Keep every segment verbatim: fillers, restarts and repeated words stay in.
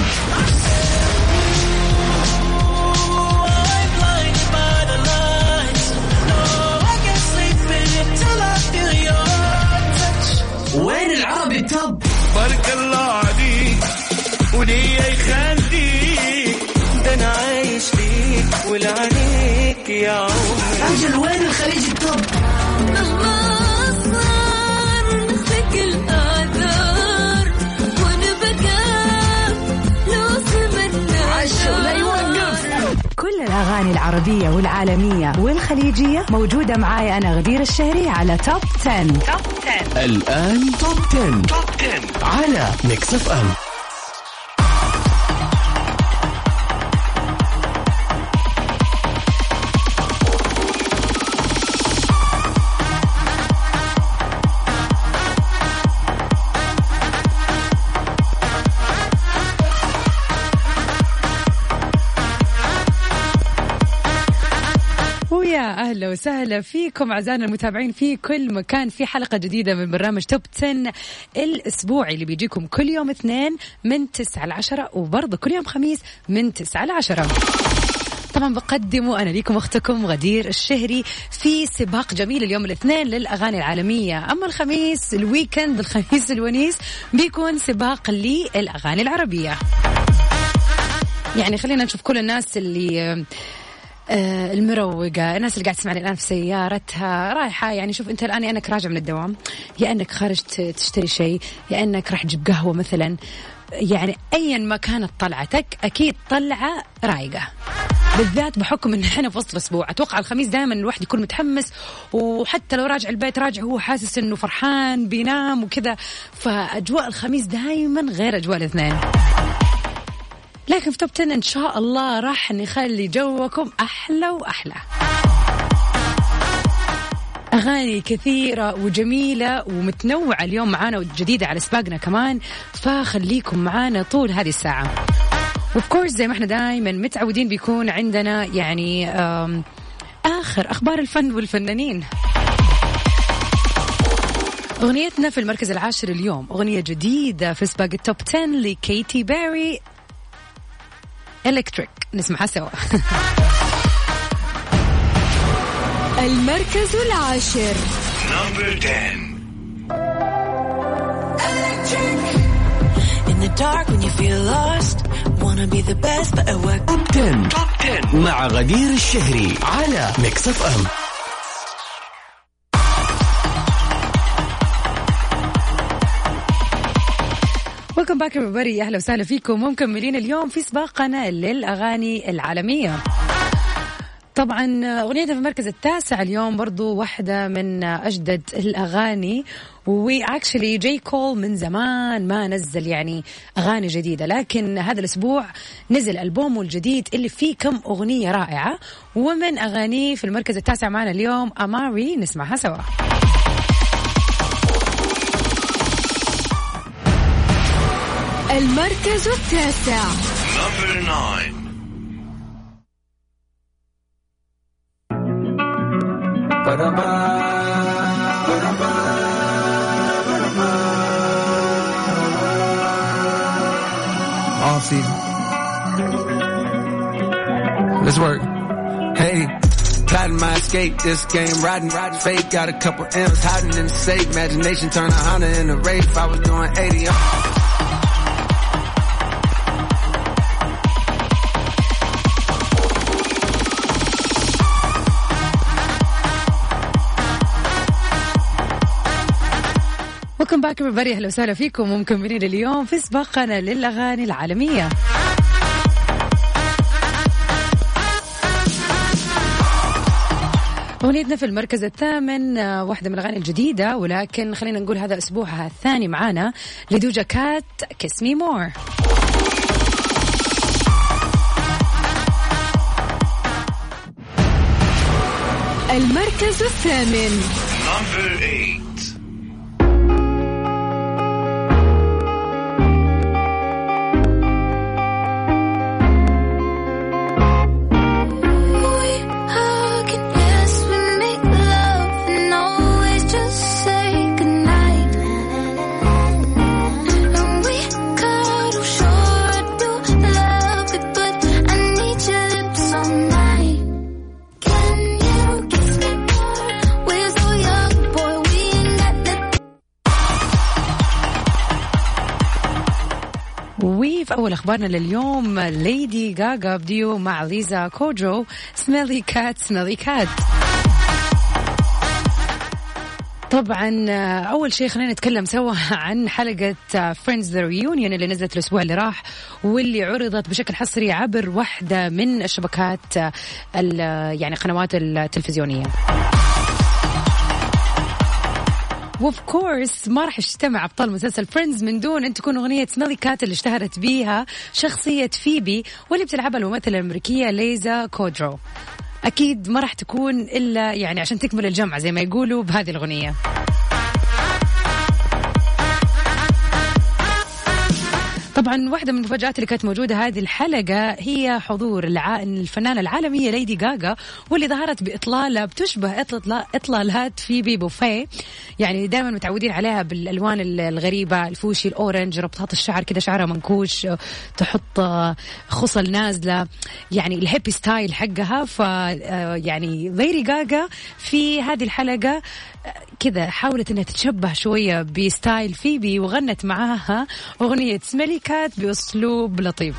وين العربي توب؟ بارك الله عليك وليه يخليك ده انا عايش ليك ولعنيك يا عمري. أجل وين الخليج التوب؟ كل الأغاني العربية والعالمية والخليجية موجودة معاي أنا غدير الشهري على توب عشرة. توب عشرة الآن توب عشرة. توب عشرة على ميكس اف ام. أهلا وسهلا فيكم أعزائنا المتابعين في كل مكان في حلقة جديدة من برنامج توب عشرة الأسبوعي اللي بيجيكم كل يوم اثنين من تسعة لعشرة وبرضه كل يوم خميس من تسعة لعشرة. طبعا بقدمه أنا ليكم أختكم غدير الشهري في سباق جميل اليوم الاثنين للأغاني العالمية. أما الخميس الويكند الخميس الونيس بيكون سباق للأغاني العربية. يعني خلينا نشوف كل الناس اللي آه المروقة، الناس اللي قاعد تسمعني الآن في سيارتها رايحة، يعني شوف أنت الآن يا أنك راجع من الدوام، يا أنك خارج تشتري شيء، يا أنك راح تجيب قهوة مثلا، يعني أيا ما كانت طلعتك أكيد طلعة رايقة، بالذات بحكم إن إحنا في وسط الأسبوع. أتوقع الخميس دائما الواحد يكون متحمس، وحتى لو راجع البيت راجع هو حاسس إنه فرحان بينام وكذا، فأجواء الخميس دائما غير أجواء الاثنين. لكن في توب عشرة إن شاء الله راح نخلي جوكم أحلى وأحلى. أغاني كثيرة وجميلة ومتنوعة اليوم معانا وجديدة على سباقنا كمان، فخليكم معانا طول هذه الساعة. وبكورس زي ما احنا دائما متعودين بيكون عندنا يعني آخر أخبار الفن والفنانين. أغنيتنا في المركز العاشر اليوم أغنية جديدة في سباق التوب عشرة لكيتي بيري، إلكتريك، نسمعها سوا. المركز العاشر. Number ten. In the dark when you feel lost, wanna be the best but at work. توب عشرة. توب عشرة مع غدير الشهري على ميكس اف ام. Welcome back everybody. أهلا وسهلا فيكم ومكملين اليوم في سباقنا للأغاني العالمية. طبعا أغنيتنا في المركز التاسع اليوم برضو واحدة من أجدد الأغاني، وإكشلي جاي كول من زمان ما نزل يعني أغاني جديدة، لكن هذا الأسبوع نزل ألبومه الجديد اللي فيه كم أغنية رائعة، ومن أغانيه في المركز التاسع معنا اليوم أماري، نسمعها سوا. المركز التاسع. Number nine. Off season. Let's work. Hey, plotting my escape. This game riding, riding fake. Got a couple M's hiding in the safe. Imagination turn a Honda in a Wraith. I was doing eighty. Welcome back everybody. أهلا وسهلا فيكم ومكملين اليوم في سباقنا للأغاني العالمية. أغنيتنا في المركز الثامن واحدة من الأغاني الجديدة، ولكن خلينا نقول هذا أسبوعها الثاني معانا لدوجا كات Kiss Me More. المركز الثامن. Number eight. في أول أخبارنا لليوم ليدي غاغا بديو مع ليزا كودرو سميلي كات سميلي كات. طبعا أول شيء خلينا نتكلم سوا عن حلقة Friends The Reunion اللي نزلت الأسبوع اللي راح واللي عرضت بشكل حصري عبر واحدة من الشبكات يعني قنوات التلفزيونية. وف كورس ما راح يجتمع أبطال مسلسل فريندز من دون أن تكون أغنية سميلي كات اللي اشتهرت بيها شخصية فيبي واللي بتلعبها الممثلة الأمريكية ليزا كودرو. أكيد ما راح تكون إلا يعني عشان تكمل الجمعة زي ما يقولوا بهذه الأغنية. طبعا واحدة من المفاجآت اللي كانت موجودة هذه الحلقة هي حضور الع... الفنانة العالمية ليدي غاغا واللي ظهرت بإطلالة بتشبه إطلال... إطلالات فيبي بوفيه، يعني دائما متعودين عليها بالألوان الغريبة، الفوشي الأورنج، ربطات الشعر كده شعرها منكوش، تحط خصل نازلة، يعني الهيبي ستايل حقها. ف يعني ليدي غاغا في هذه الحلقة كذا حاولت انها تتشبه شوية بستايل فيبي وغنت معاها أغنية سميلي كات بأسلوب لطيف.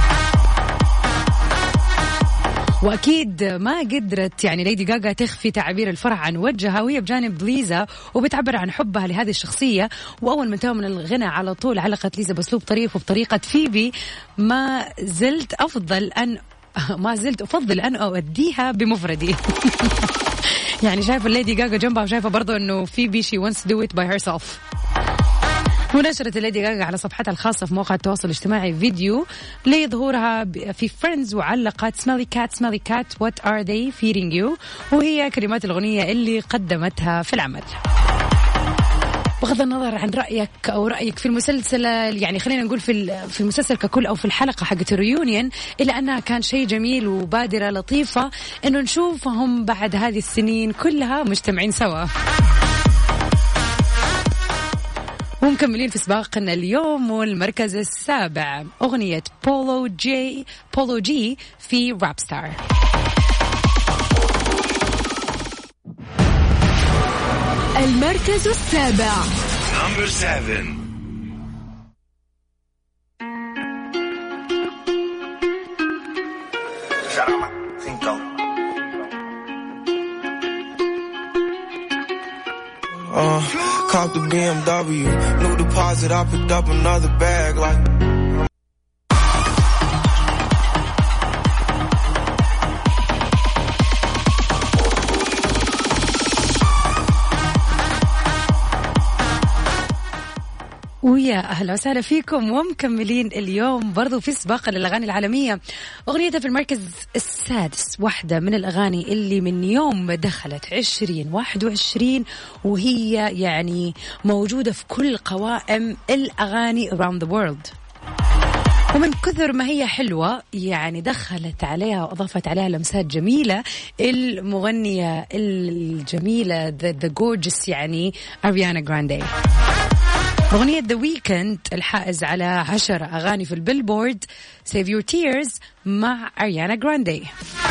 وأكيد ما قدرت يعني ليدي غاغا تخفي تعبير الفرح عن وجهها وهي بجانب ليزا وبتعبر عن حبها لهذه الشخصية. وأول ما انتهى من الغنى على طول علقت ليزا بأسلوب طريف وبطريقة فيبي ما زلت أفضل أن ما زلت أفضل أن أؤديها بمفردي. يعني شايفة الليدي غاغا جنبها وشايفة برضو أنه فيبي she wants to do it by herself. ونشرت الليدي غاغا على صفحتها الخاصة في مواقع التواصل الاجتماعي فيديو لظهورها في فريندز وعلقت سميلي كات سميلي كات what are they feeding you وهي كلمات الأغنية اللي قدمتها في العمل. بغض النظر عن رأيك أو رأيك في المسلسل، يعني خلينا نقول في في المسلسل ككل أو في الحلقة حقت الريونيون، إلا أنها كان شيء جميل وبادرة لطيفة إنه نشوفهم بعد هذه السنين كلها مجتمعين سوا. ومكملين في سباقنا اليوم والمركز السابع أغنية بولو جي بولو جي في راب ستار. المركز السابع Number seven. Uh, caught the B M W, new deposit, I picked up another bag like ويا أهلا وسهلا فيكم ومكملين اليوم برضو في سباق للأغاني العالمية. أغنيتها في المركز السادس، واحدة من الأغاني اللي من يوم دخلت عشرين واحد وعشرين وهي يعني موجودة في كل قوائم الأغاني around the world. ومن كثر ما هي حلوة يعني دخلت عليها وأضافت عليها لمسات جميلة المغنية الجميلة the, the gorgeous يعني أريانا غراندي. أغنية The Weeknd الحائز على عشر أغاني في البيلبورد Save Your Tears مع أريانا غراندي.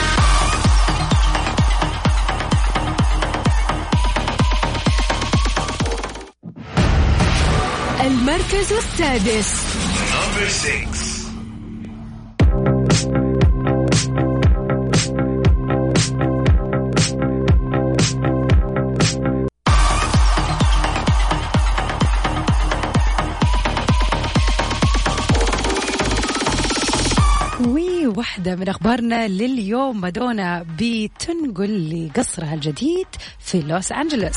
المركز السادس Number six. واحدة من أخبارنا لليوم، مادونا بتنقل لقصرها الجديد في لوس أنجلوس.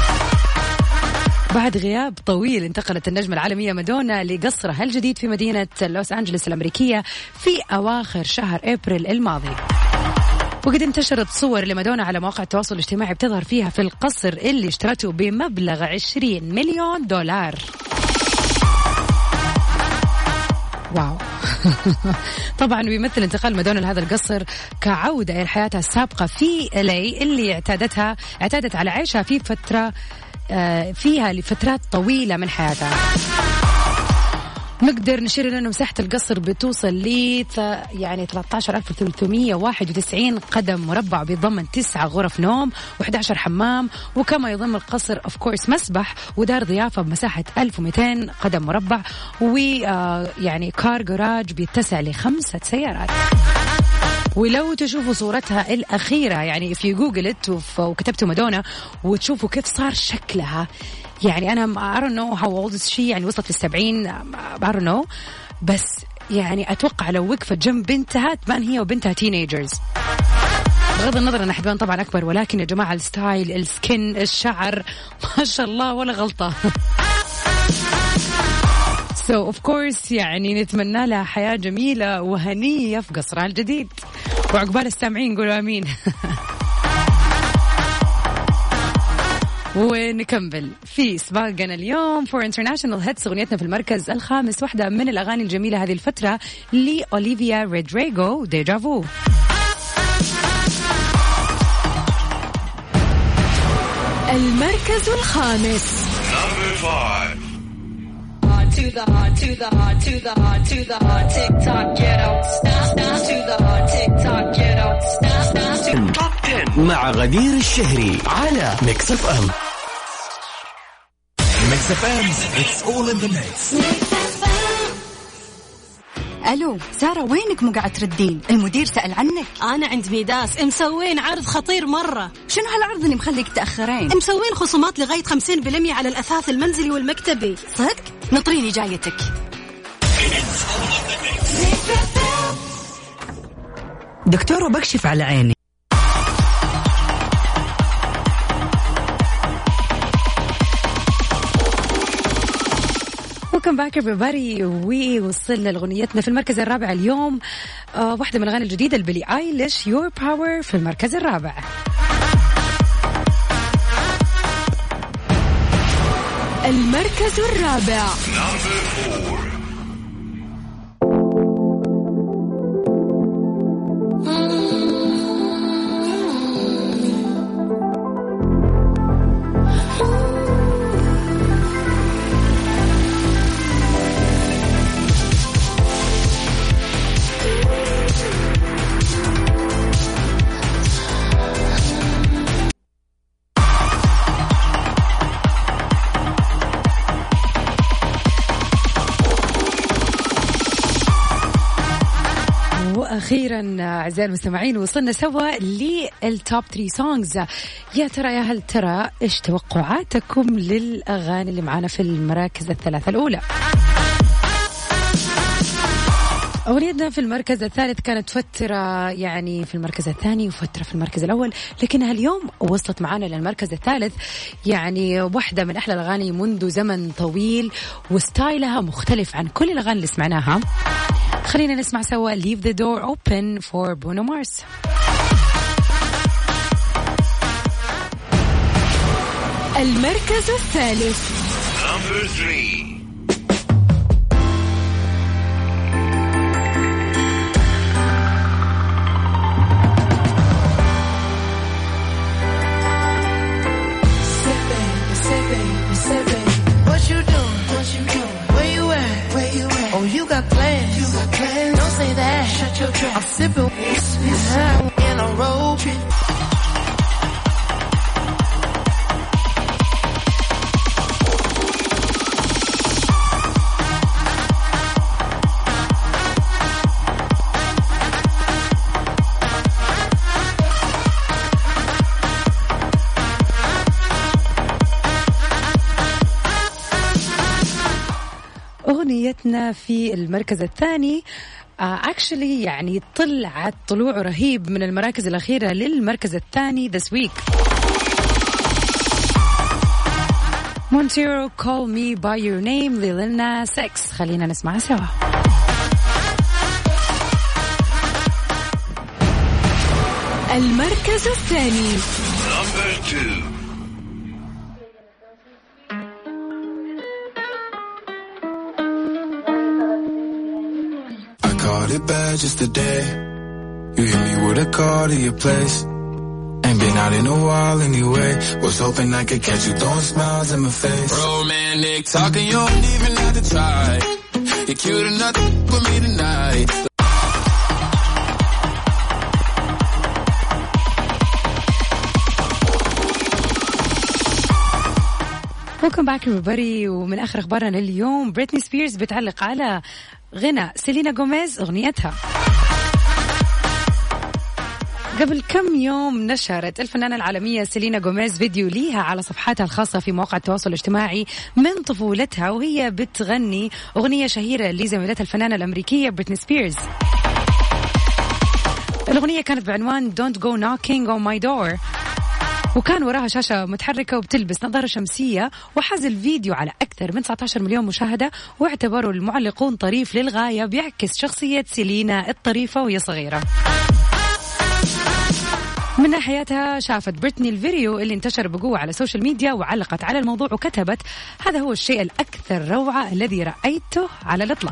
بعد غياب طويل انتقلت النجمة العالمية مادونا لقصرها الجديد في مدينة لوس أنجلوس الأمريكية في أواخر شهر أبريل الماضي. وقد انتشرت صور لمادونا على مواقع التواصل الاجتماعي بتظهر فيها في القصر اللي اشترته بمبلغ عشرين مليون دولار. واو. طبعا بيمثل انتقال مادونا لهذا القصر كعودة إلى حياتها السابقة في إلي اللي اعتادتها اعتادت على عيشها في فترة فيها لفترات طويلة من حياتها. نقدر نشير لأنه مساحة القصر بتوصل ل يعني ثلاثة عشر ألف وثلاثمية وواحد وتسعين قدم مربع، بيضمن تسعة غرف نوم وإحدى عشر حمام، وكما يضم القصر أوف كورس مسبح ودار ضيافة بمساحة ألف ومئتين قدم مربع، ويعني كار جراج بيتسع لخمسة سيارات. ولو تشوفوا صورتها الأخيرة يعني في جوجل وكتبتوا مادونا وتشوفوا كيف صار شكلها، يعني أنا I don't know how old is she، يعني وصلت للسبعين I don't know، بس يعني أتوقع لو وقفت جنب بنتها تبان هي وبنتها تينيجرز، بغض النظر أن حتبان طبعا أكبر، ولكن يا جماعة الستايل، السكن، الشعر، ما شاء الله ولا غلطة. So of course يعني نتمنى لها حياة جميلة وهنية في قصرها الجديد، وعقبال السامعين قولوا آمين. ونكمل في سباقنا اليوم for international hits. أغنيتنا في المركز الخامس، واحدة من الأغاني الجميلة هذه الفترة لأوليفيا رودريغو، ديجافو. المركز الخامس. Number five. To the heart, to the heart, to the heart, to the heart, tick tock, get out, stop, stop, to the heart, tick tock, get out, stop, stop. Top ten مع غدير الشهري على ميكس اف ام. ميكس اف ام, it's all in the mix. ألو سارة، وينك مو قاعد تردين؟ المدير سأل عنك. أنا عند ميداس مسوين عرض خطير مرة. شنو هالعرض اللي مخليك تأخرين؟ مسوين خصومات لغاية خمسين بالمية على الأثاث المنزلي والمكتبي. صدق؟ نطريني جايتك. دكتور بكشف على عيني. Welcome back everybody. ووصلنا لغنيتنا في المركز الرابع اليوم، آه واحدة من الأغاني الجديدة لبيلي آيليش، Your Power، في المركز الرابع. المركز الرابع. أخيرا أعزائي المستمعين وصلنا سوا للتوب ثلاثة سونجز. يا ترى يا هل ترى إيش توقعاتكم للأغاني اللي معانا في المراكز الثلاثة الأولى؟ أغنيتنا في المركز الثالث كانت فترة يعني في المركز الثاني وفترة في المركز الأول، لكنها اليوم وصلت معانا للمركز الثالث. يعني واحدة من أحلى الأغاني منذ زمن طويل، وستايلها مختلف عن كل الأغاني اللي سمعناها. خلينا نسمع سوا Leave the Door Open for Bruno Mars. المركز الثالث. Number three. I'm sipping in a robe. أغنيتنا في المركز الثاني اكشلي uh, يعني طلعت طلوع رهيب من المراكز الأخيرة للمركز الثاني this week. Montero Call Me By Your Name لليل ناس إكس. خلينا نسمعها سوا. المركز الثاني. Number two. Caught it bad just today. You hit me with a call to your place. Ain't been out in a while anyway. Was hoping I could catch you throwing smiles in my face. Romantic talking, you don't even have to try. You're cute enough for me tonight. Welcome back everybody. ومن آخر أخبارنا اليوم بريتني سبيرز بتعلق على غنى سيلينا غوميز أغنيتها. قبل كم يوم نشرت الفنانة العالمية سيلينا غوميز فيديو ليها على صفحاتها الخاصة في مواقع التواصل الاجتماعي من طفولتها وهي بتغني أغنية شهيرة لزميلتها الفنانة الأمريكية بريتني سبيرز. الأغنية كانت بعنوان Don't Go Knocking on My Door، وكان وراها شاشة متحركة وبتلبس نظارة شمسية، وحاز الفيديو على أكثر من تسعة عشر مليون مشاهدة، واعتبروا المعلقون طريف للغاية بيعكس شخصية سيلينا الطريفة وهي صغيرة. من ناحيتها شافت بريتني الفيديو اللي انتشر بقوة على السوشيال ميديا وعلقت على الموضوع وكتبت: هذا هو الشيء الأكثر روعة الذي رأيته على الإطلاق.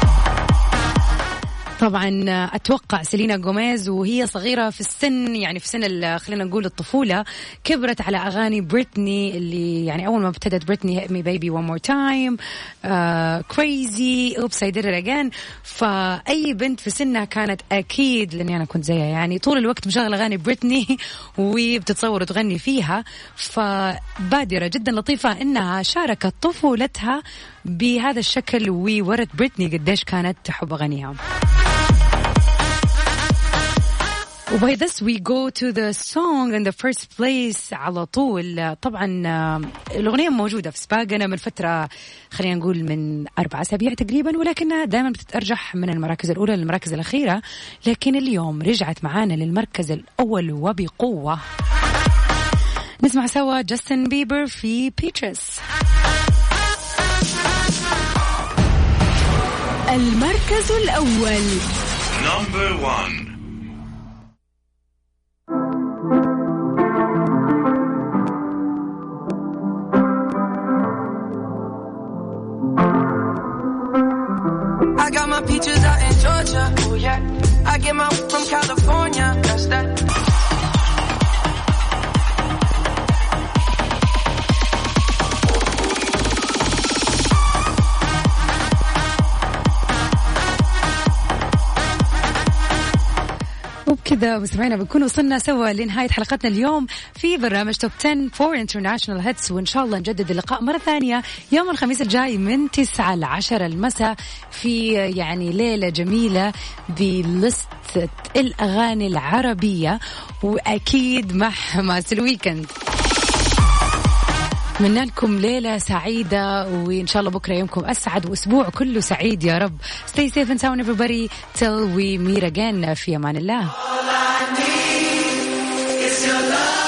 طبعا أتوقع سيلينا غوميز وهي صغيرة في السن، يعني في سن خلينا نقول الطفولة، كبرت على أغاني بريتني اللي يعني أول ما ابتدت بريتني Hit Me Baby One More Time، uh, Crazy، Oops I Did It Again. فأي بنت في سنها كانت أكيد، لأني أنا كنت زيها يعني طول الوقت مشغلة أغاني بريتني وبتتصور وتغني فيها. فبادرة جدا لطيفة إنها شاركت طفولتها بهذا الشكل وورت بريتني قديش كانت تحب أغانيها. وباي this we go to the song in the first place على طول. طبعا الأغنية موجودة في سباقنا من فترة، خلينا نقول من أربع أسابيع تقريبا، ولكنها دائما بتتأرجح من المراكز الأولى للمراكز الأخيرة، لكن اليوم رجعت معانا للمركز الأول وبقوة. نسمع سوا جاستن بيبر في بيترس. المركز الأول. Number one. I got my peaches out in Georgia, oh yeah. I get my from California, that's that. وبكذا مستمعينا بنكون وصلنا سوا لنهاية حلقتنا اليوم في برنامج توب عشرة فور انترناشونال هيتس، وإن شاء الله نجدد اللقاء مرة ثانية يوم الخميس الجاي من تسعة لعشرة المساء في يعني ليلة جميلة بلستة الأغاني العربية، وأكيد مع حماس الويكند. أتمنى لكم ليلة سعيدة، وإن شاء الله بكرة يومكم أسعد وأسبوع كله سعيد يا رب. Stay safe and sound everybody till we meet again. في أمان الله.